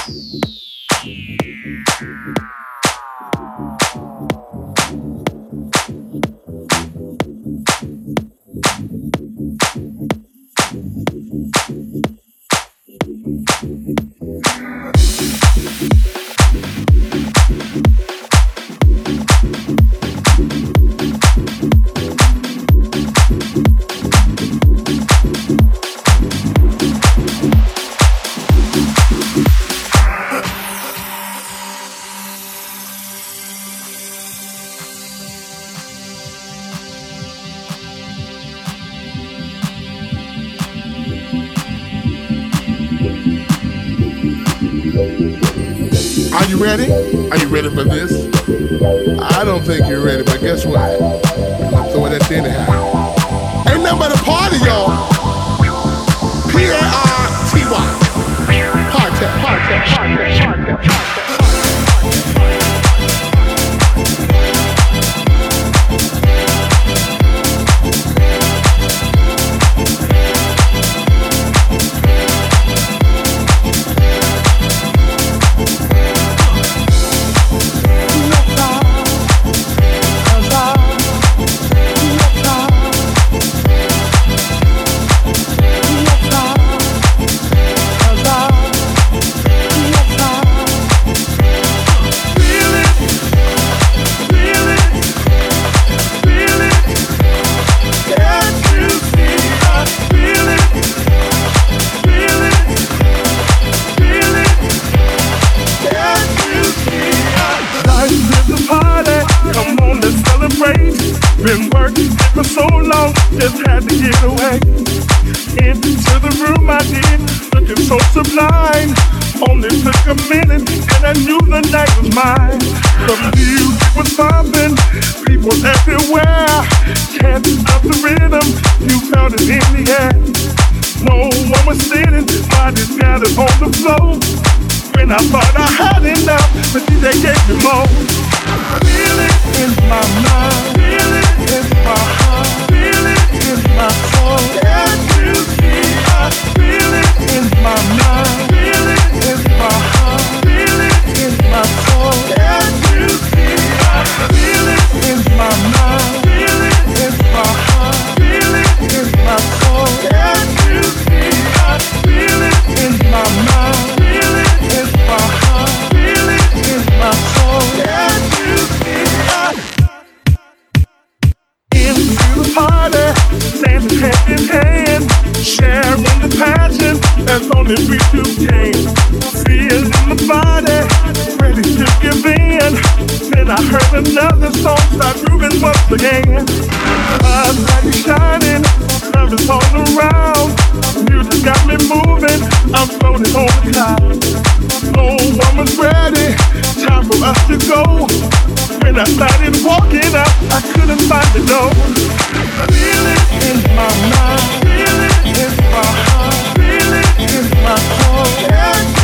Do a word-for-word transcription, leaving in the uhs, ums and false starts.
Are you ready? Are you ready for this? I don't think you're ready, but guess what? I'm gonna throw it at you anyhow. Ain't nothing but a party, y'all. P A R T Y. Party, party, party, party, party. Been working for so long, just had to get away. Into the room I did, looking so sublime. Only took a minute and I knew the night was mine. The music was pumping, people everywhere. Can't stop the rhythm, you felt it in the air. No one was sitting, bodies scattered on the floor. When I thought I had enough, the D J gave me more. Feel it in my mind, feel it in my heart, feel it in my soul. Can't you see? I feel it in my mind, feel it in my heart, feel it in my soul. Can't you see? I feel it in my mind, feel it in my heart, feel it in my soul. Can't you see? I feel it in my mind, feel it in my heart, feel it in my soul. Can't you see? I into the party, standing hand in hand, sharing the passion that's only we two can. Feeling the body, ready to give in. Then I heard another song start grooving once again. My light is shining, love is all around. Music got me moving, I'm floating on the cloud. No one was ready, time for us to go. When I started walking up, I couldn't find the door. Feel it in my mind, feel it in my heart, feel it in my soul.